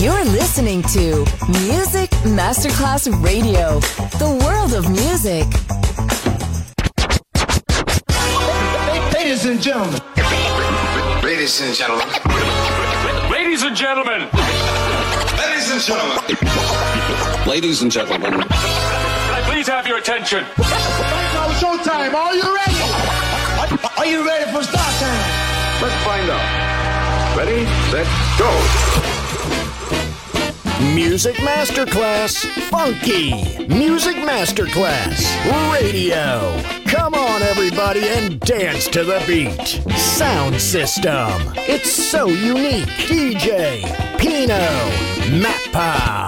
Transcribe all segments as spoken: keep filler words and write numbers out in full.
You're listening to Music Masterclass Radio, the world of music. Ladies and gentlemen. Ladies and gentlemen. Ladies and gentlemen. Ladies and gentlemen. Ladies and gentlemen. Can I please have your attention? Right now, showtime. Are you ready? Are you ready for start time? Let's find out. Ready, set, go. Music Masterclass Funky. Music Masterclass Radio. Come on, everybody, and dance to the beat. Sound system. It's so unique. D J Pino Mappa.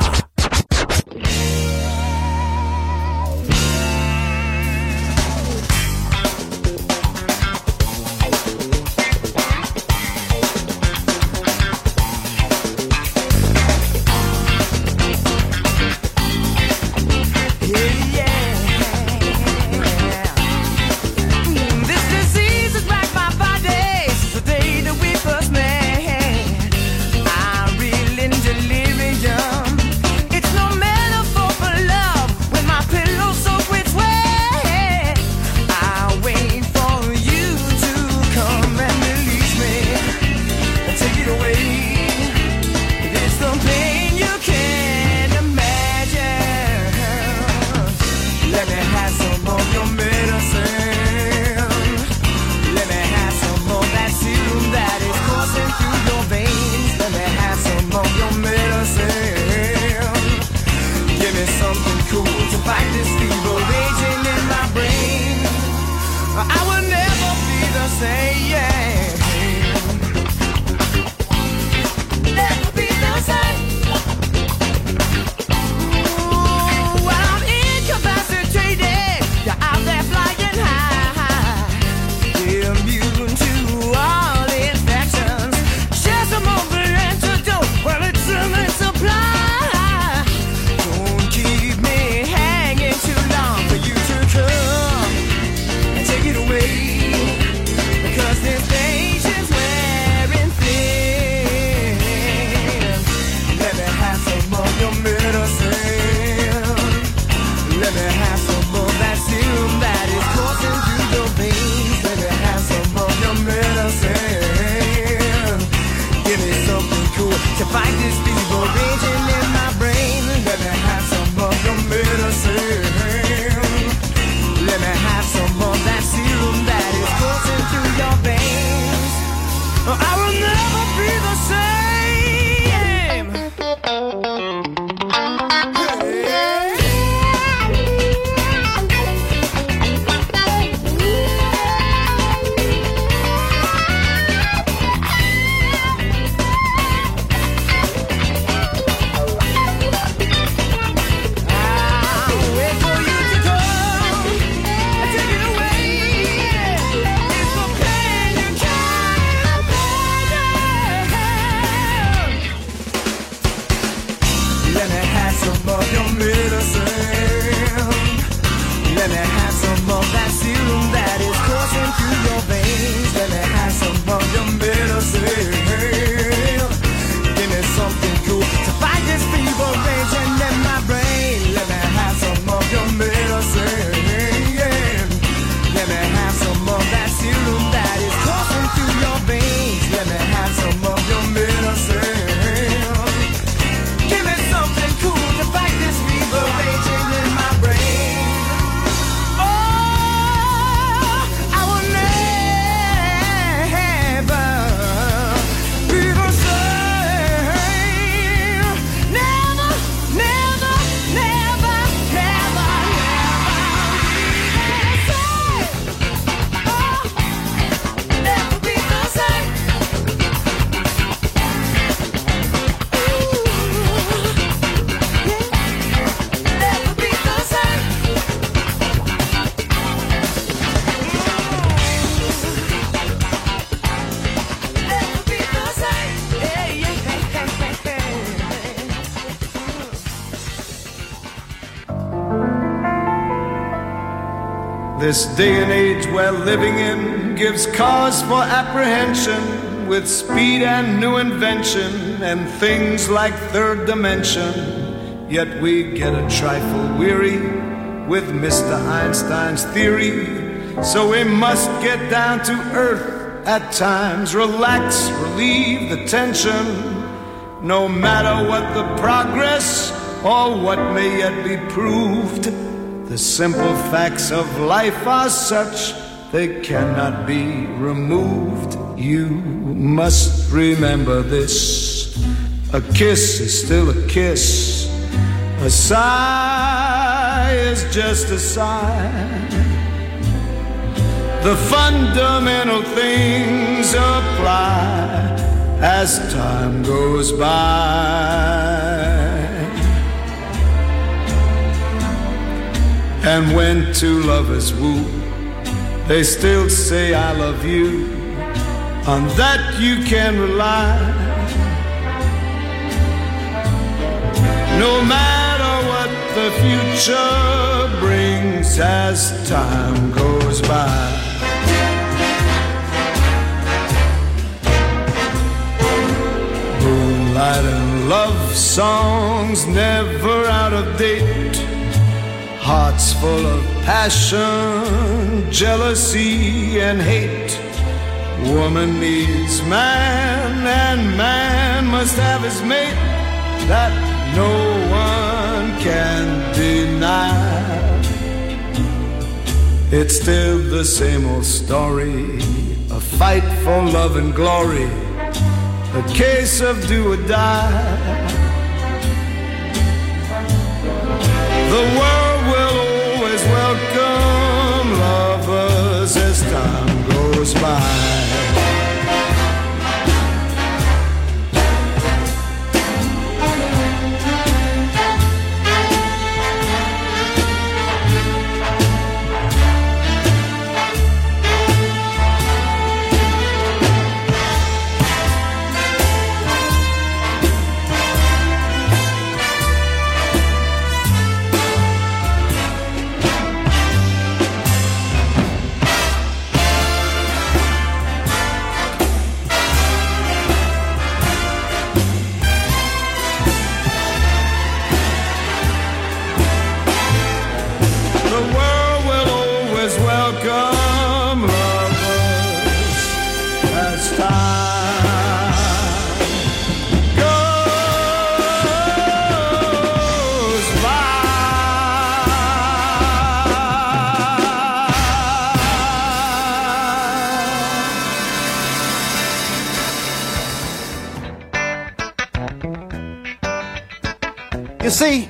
This day and age we're living in gives cause for apprehension. with speed and new invention and things like third dimension. Yet we get a trifle weary with Mister Einstein's theory. So we must get down to earth at times, relax, relieve the tension. No matter what the progress or what may yet be proved, the simple facts of life are such they cannot be removed. You must remember this: a kiss is still a kiss, a sigh is just a sigh. The fundamental things apply as time goes by. And when two lovers woo, they still say I love you. On that you can rely. No matter what the future brings as time goes by. Moonlight and love songs never out of date. Hearts full of passion, jealousy and hate. Woman needs man and man must have his mate. That no one can deny. It's still the same old story, a fight for love and glory, a case of do or die. The world will always welcome lovers as time goes by. You see,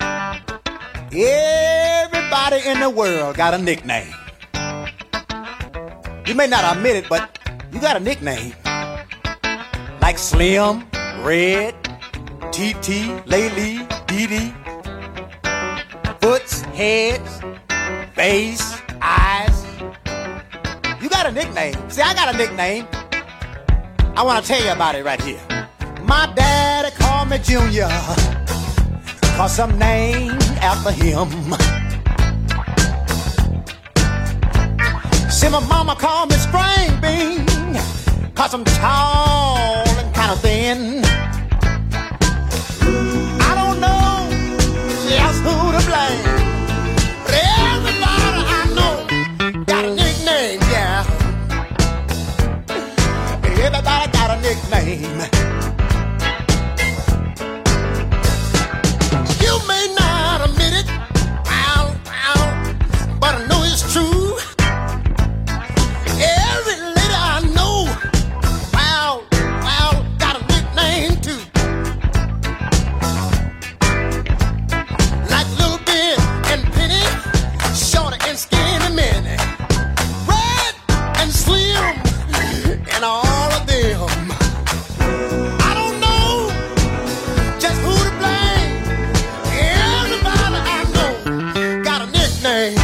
everybody in the world got a nickname. You may not admit it, but you got a nickname. Like Slim, Red, T T, Lady, Dee Dee, Foots, Heads, Face, Eyes. You got a nickname. See, I got a nickname. I want to tell you about it right here. My daddy called me Junior, cause I'm named after him. See, my mama called me Spring Bean, cause I'm tall and kind of thin. I don't know just who to blame, but everybody I know got a nickname, yeah. Everybody got a nickname. You may not admit it, well, well, but I know it's true. Every lady I know, well, well, got a nickname too. Like Little Bit and Penny, Shorty and Skinny Minnie, Red and Slim, and all of them. I don't know just who to blame. Everybody I know got a nickname.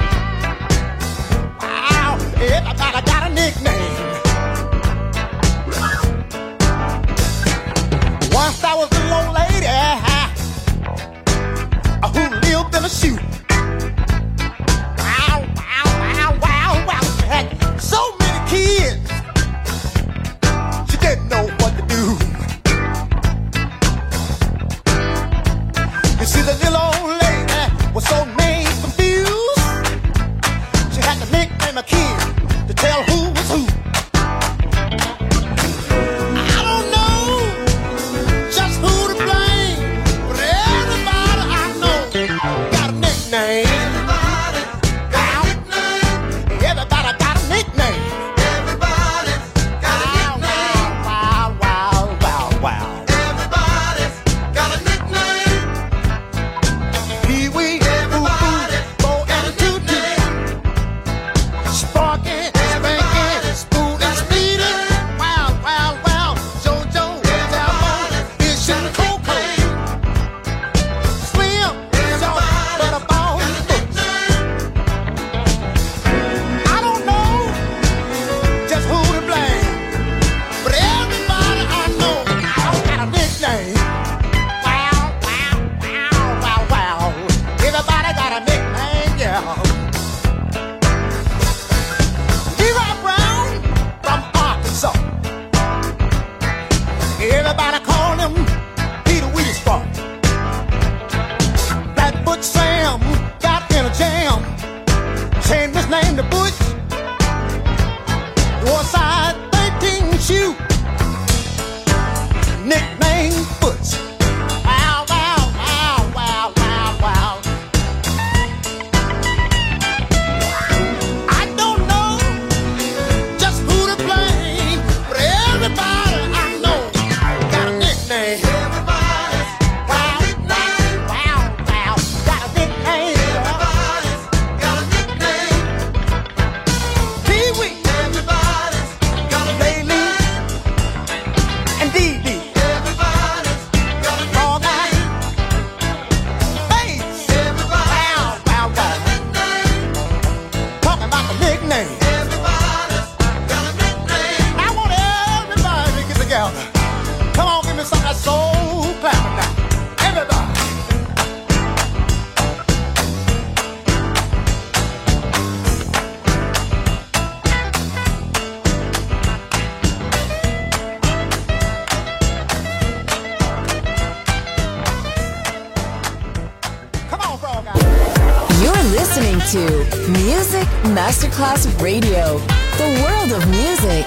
Wow, everybody got a nickname. Once I was a little lady who lived in a shoe. Wow, wow, wow, wow, wow. She had so many kids. Everybody call him Peter Wheatstraw. Blackfoot Sam got in a jam, changed his name to Butch. Wore size thirteen shoe, nickname Butch. Wow, wow, wow, wow, wow, wow. I don't know just who to blame, but everybody I know got a nickname. Everybody's got a nickname. Wow, wow, got a nickname. Everybody's got a nickname. Pee-wee. Everybody's got a nickname. And Dee Dee. Everybody's got a Frog Eye. Bass. Everybody. Wow, wow, wow. Talking about the nickname. Everybody's got a nickname. I want everybody to get together. Come on, give me some of that soul clapping now. Everybody. Come on, Frog Eye. You're listening to Music Masterclass Radio, the world of music.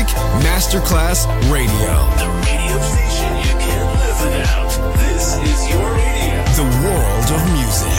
Music Masterclass Radio. The radio station you can't live without. This is your radio. The world of music.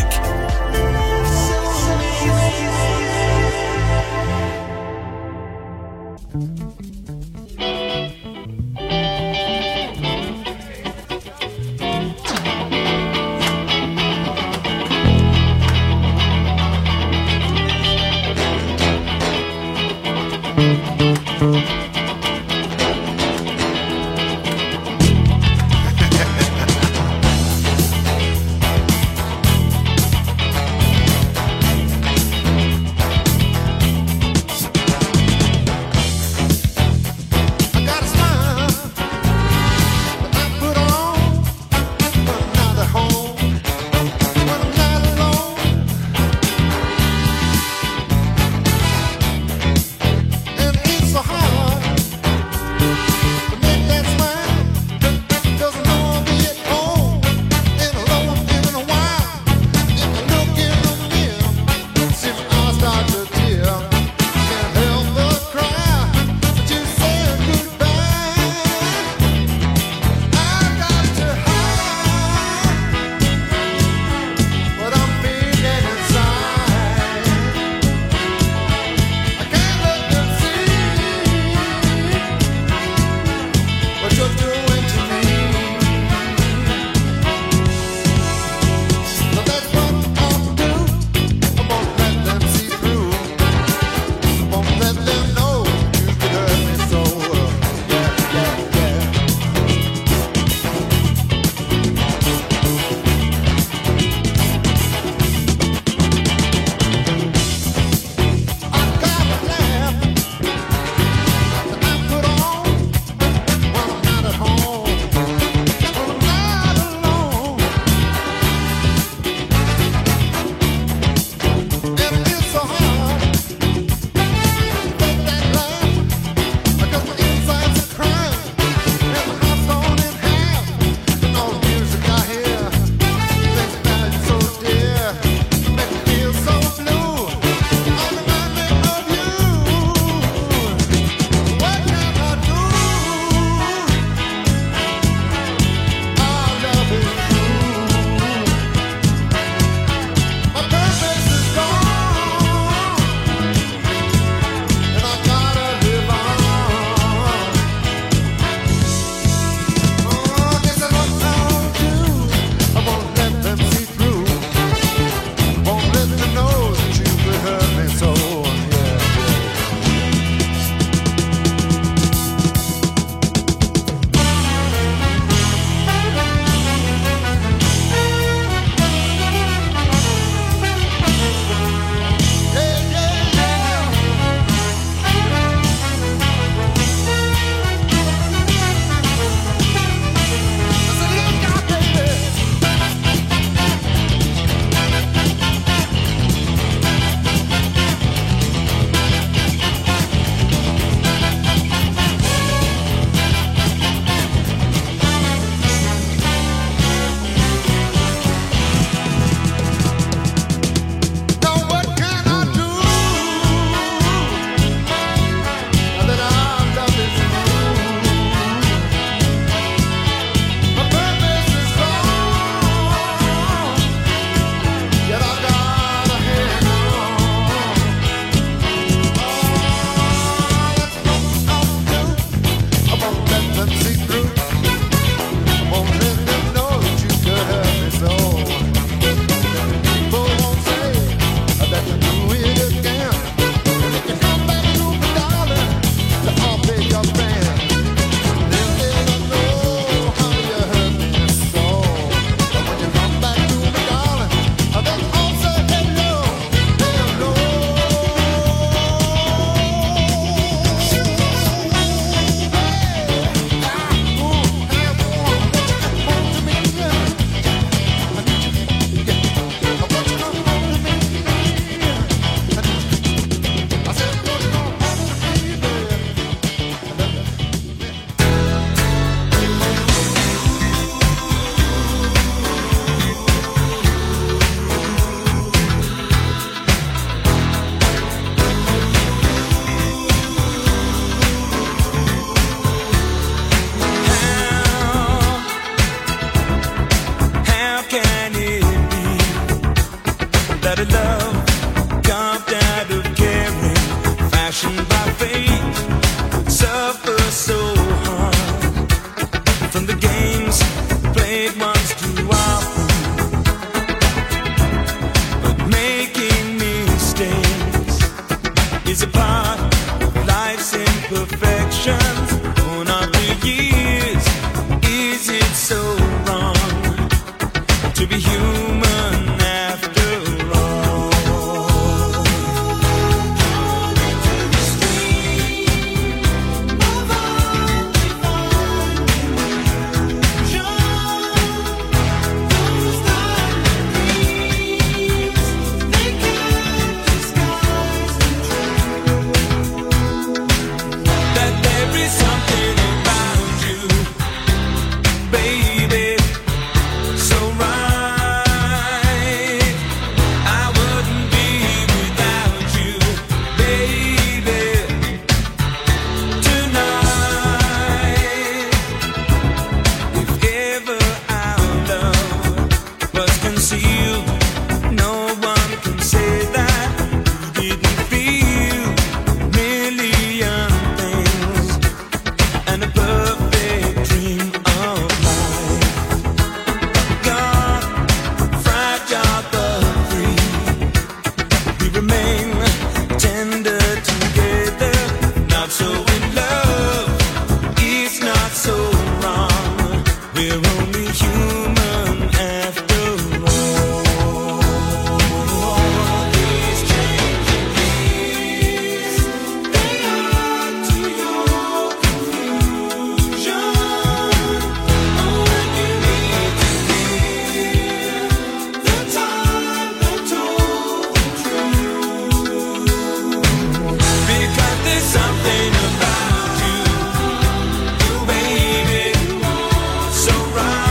Something about you, you baby, so right.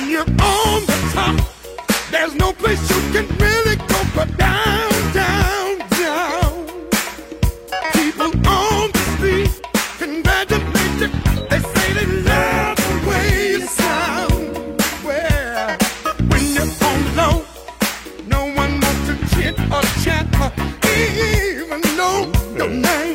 When you're on the top, there's no place you can really go but down, down, down. People on the street congratulate you. They say they love the way you sound. Well, when you're on low, no one wants to chit or chat or even know your name.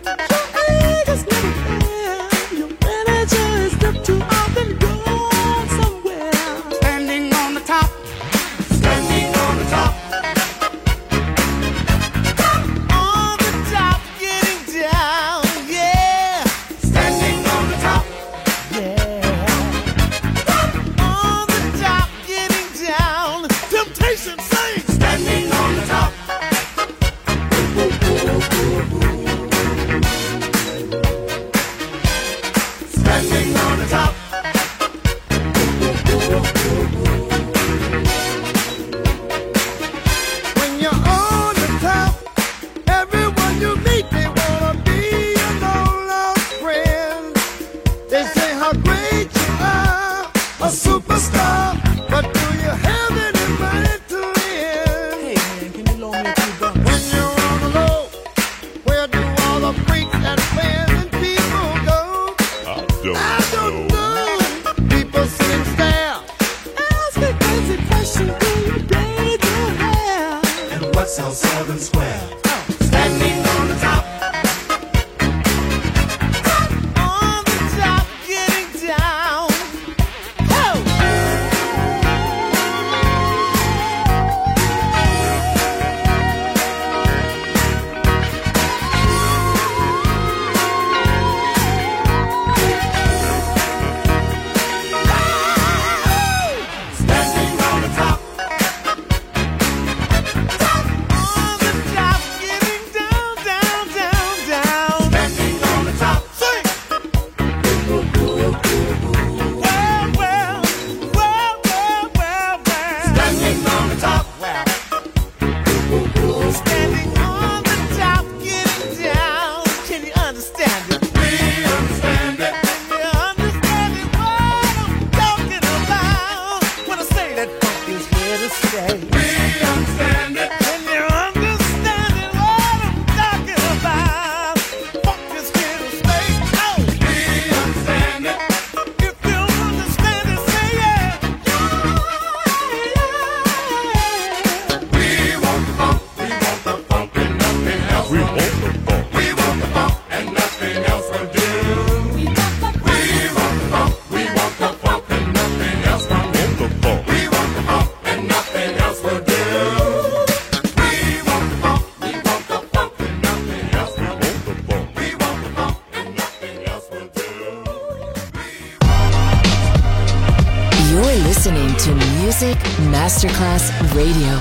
Masterclass Radio.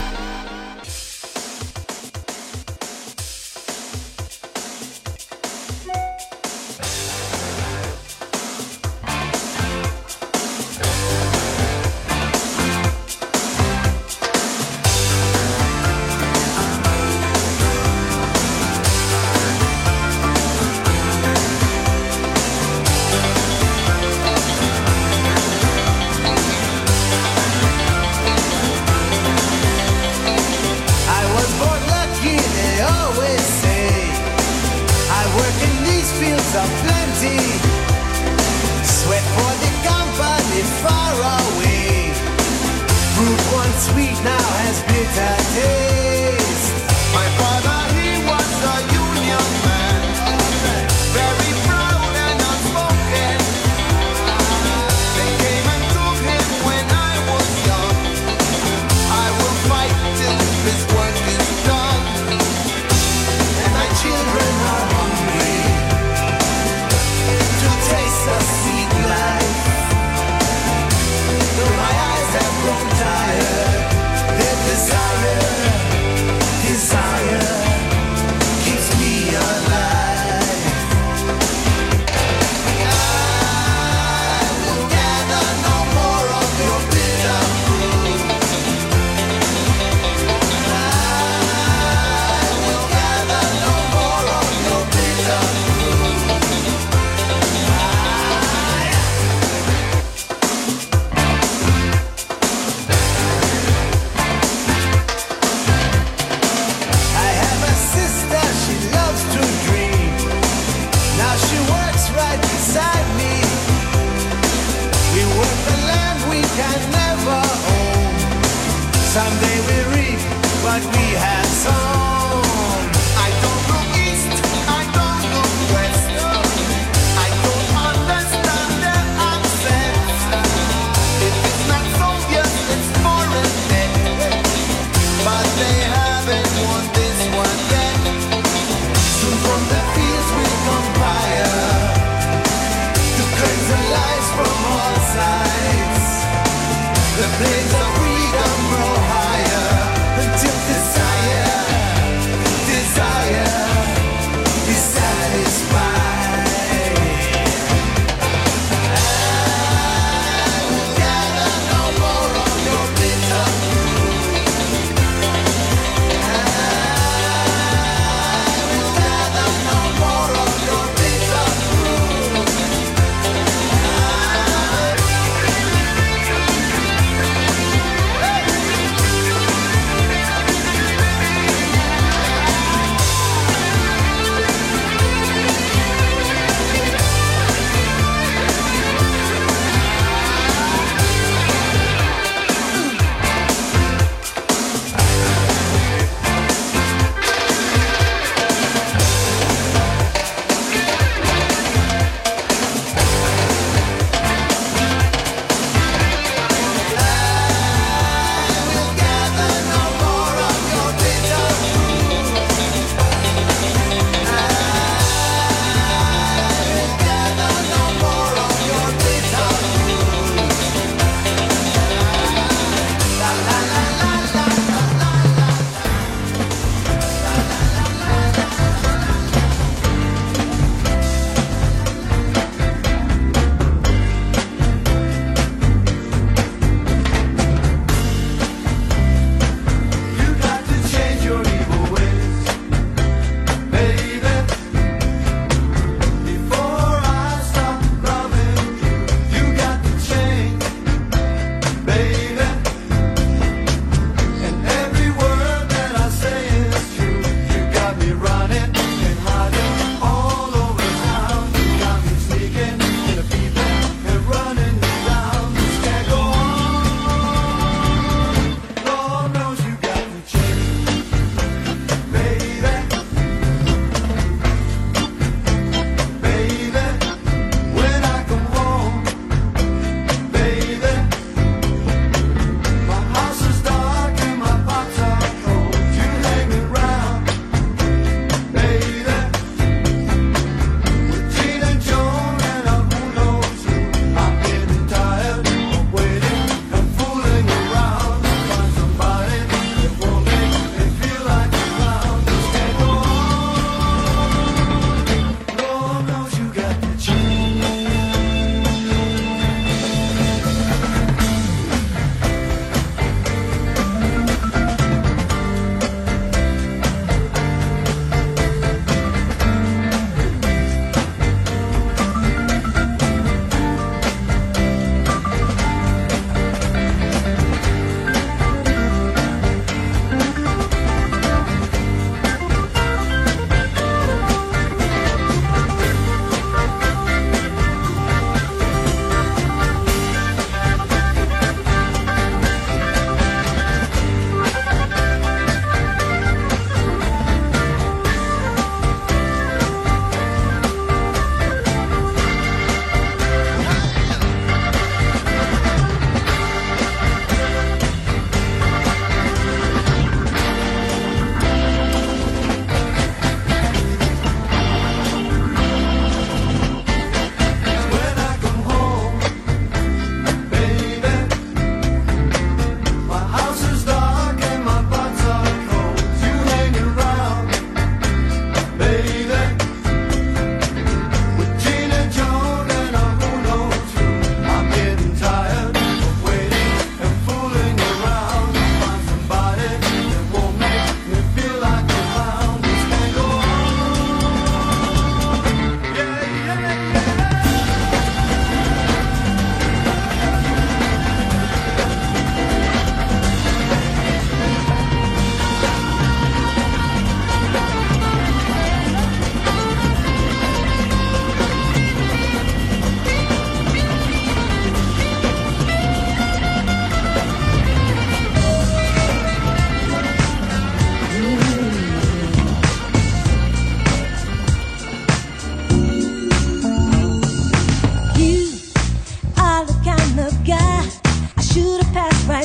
Someday we reap what we have sown. I don't go east, I don't go west. I don't understand their accent. If it's not Soviet, it's foreign dead. But they haven't won this one yet. Soon from the fields will come fire to cleanse the lies from all sides. The flames of freedom grow higher until desire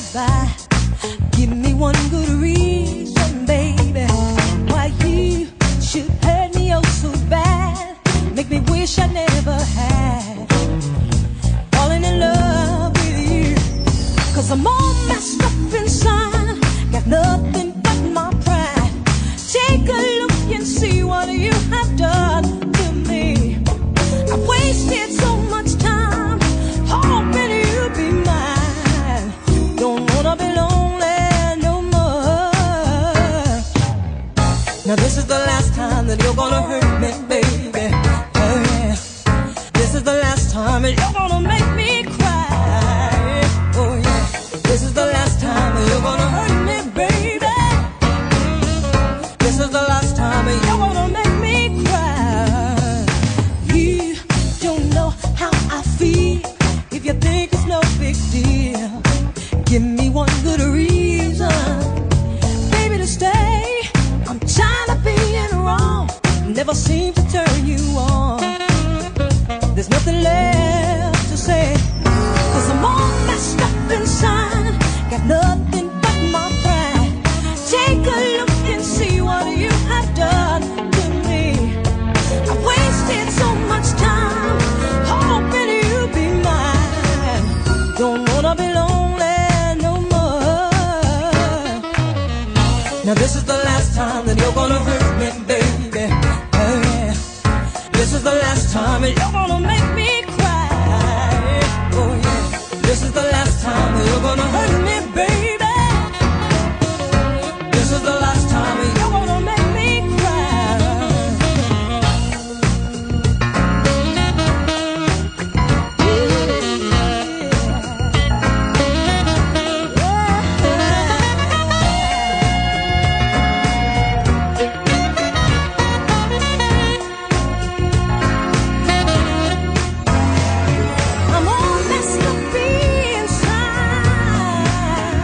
by. Give me one good reason, baby, why you should hurt me oh so bad. Make me wish I never had. Falling in love with you, 'cause I'm all messed up inside. Got nothing but my pride. Take a look and see what you have done to me. I've wasted so much time hoping you'd be mine. Don't wanna be lonely no more. Now this is the last time that you're gonna hurt me, baby. Oh yeah. This is the last time that you're gonna make me cry. Oh yeah. This is the last time that you're gonna hurt me, baby. This is the last time that you're gonna make me cry. You don't know how I feel if you think it's no big deal. Give me one good reason, baby, to stay. I'm tired of being wrong, never seem to turn you on. There's nothing left to say, 'cause I'm all messed up inside. Got nothing but my pride. Take a look and see what you have done to me. I wasted so much time hoping you'd be mine. Don't wanna be lonely no more. Now this is the last time that you're gonna hurt me, baby. Oh yeah. This is the last time that you're gonna make me cry. Oh yeah. This is the last time that you're gonna hurt me, baby. This is the last time that you're gonna make me cry. I'm all messed up inside.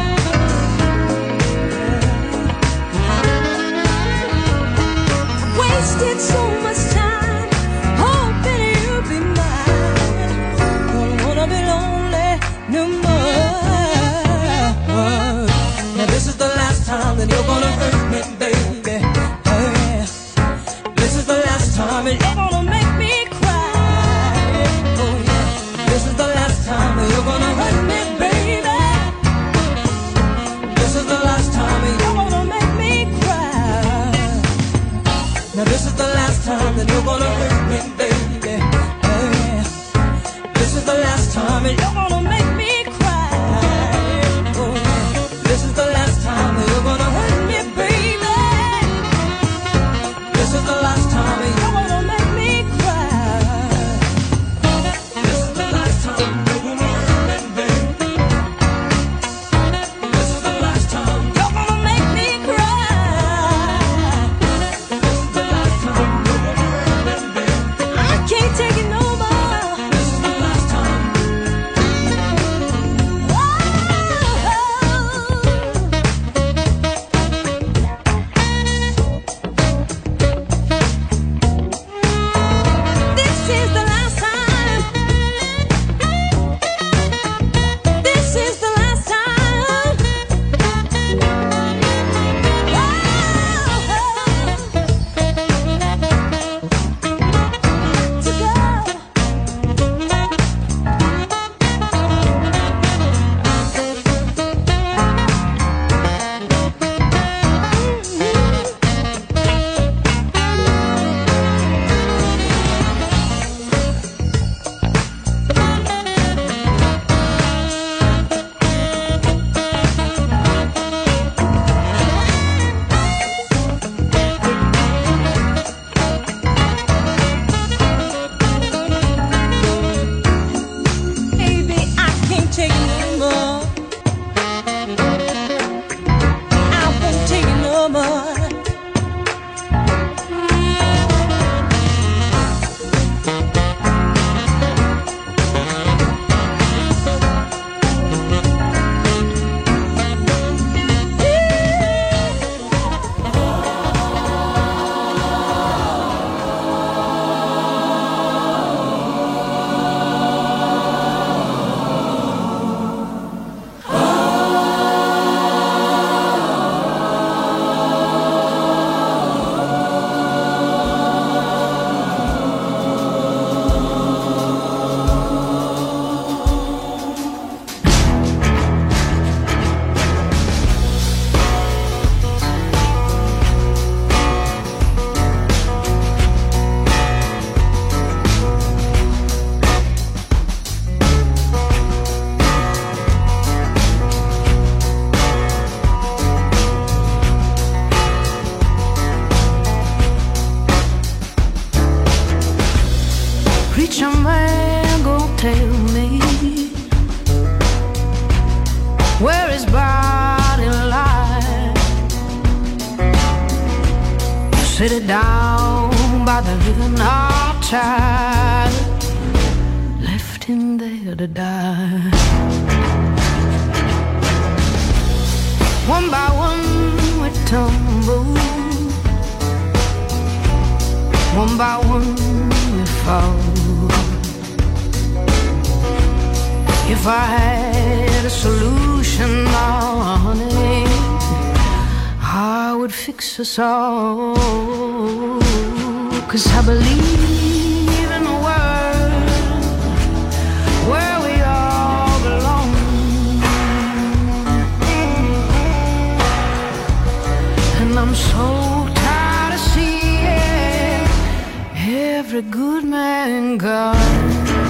Wasted so much time hoping you'd be mine. Don't wanna be lonely no more. Now this is the last time that you're gonna hurt me, baby. Oh yeah. This is the last time that you're gonna make me cry. Oh yeah. This is the last time that you're gonna hurt me, baby. This is the last time that you're gonna make me cry. Now this is the last time that you're gonna hurt me, baby. Oh yeah. This is the last time that you're gonna make me cry. Oh yeah. This is the last time that you're gonna hurt me, baby. This is the last time that you're gonna make me cry. This is the last time you're gonna hurt me, baby. This is the last time you're gonna make me cry. This is the last time you're gonna hurt me, baby. I can't take it no more. This is the last time. This is the last time. This is the last time. To go. Baby, I can't take it no more. I won't take it no more. where his body lies. Sit it down by the river outside, left him there to die. One by one we tumble, one by one we fall. If I had a solution, oh, honey, I would fix us all. 'Cause I believe in a world where we all belong. And I'm so tired of seeing every good man gone.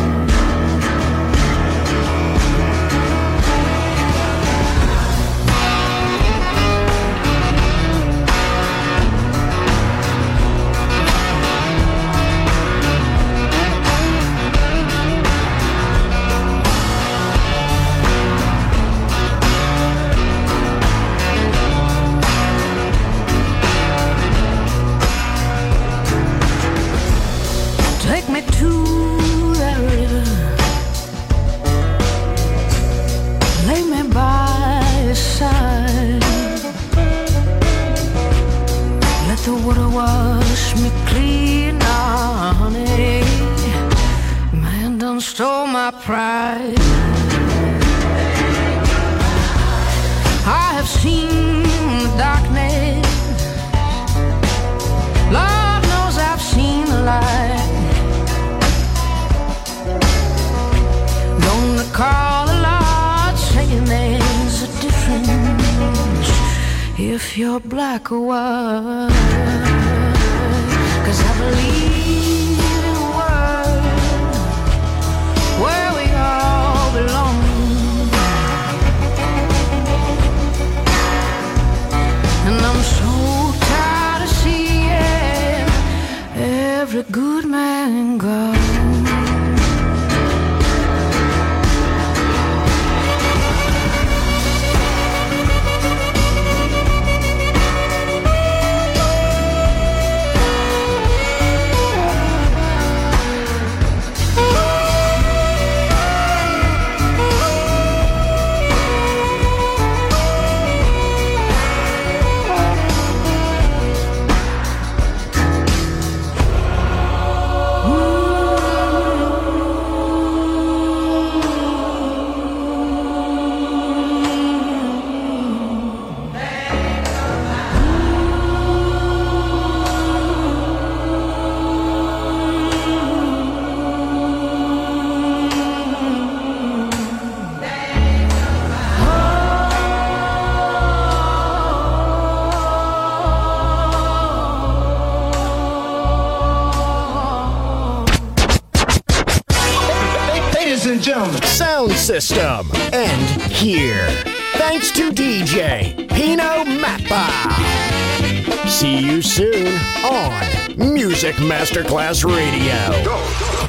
Take me to that river, lay me by your side, let the water wash me clean, now, honey. Man done stole my pride. I have seen the darkness, Lord knows I've seen the light. Don't recall a lot saying there's a difference if you're black or white. 'Cause I believe in a world where we all belong. And I'm so tired of seeing every good man gone. Sound system. End here. Thanks to D J Pino Mappa. See you soon on Music Masterclass Radio. Go.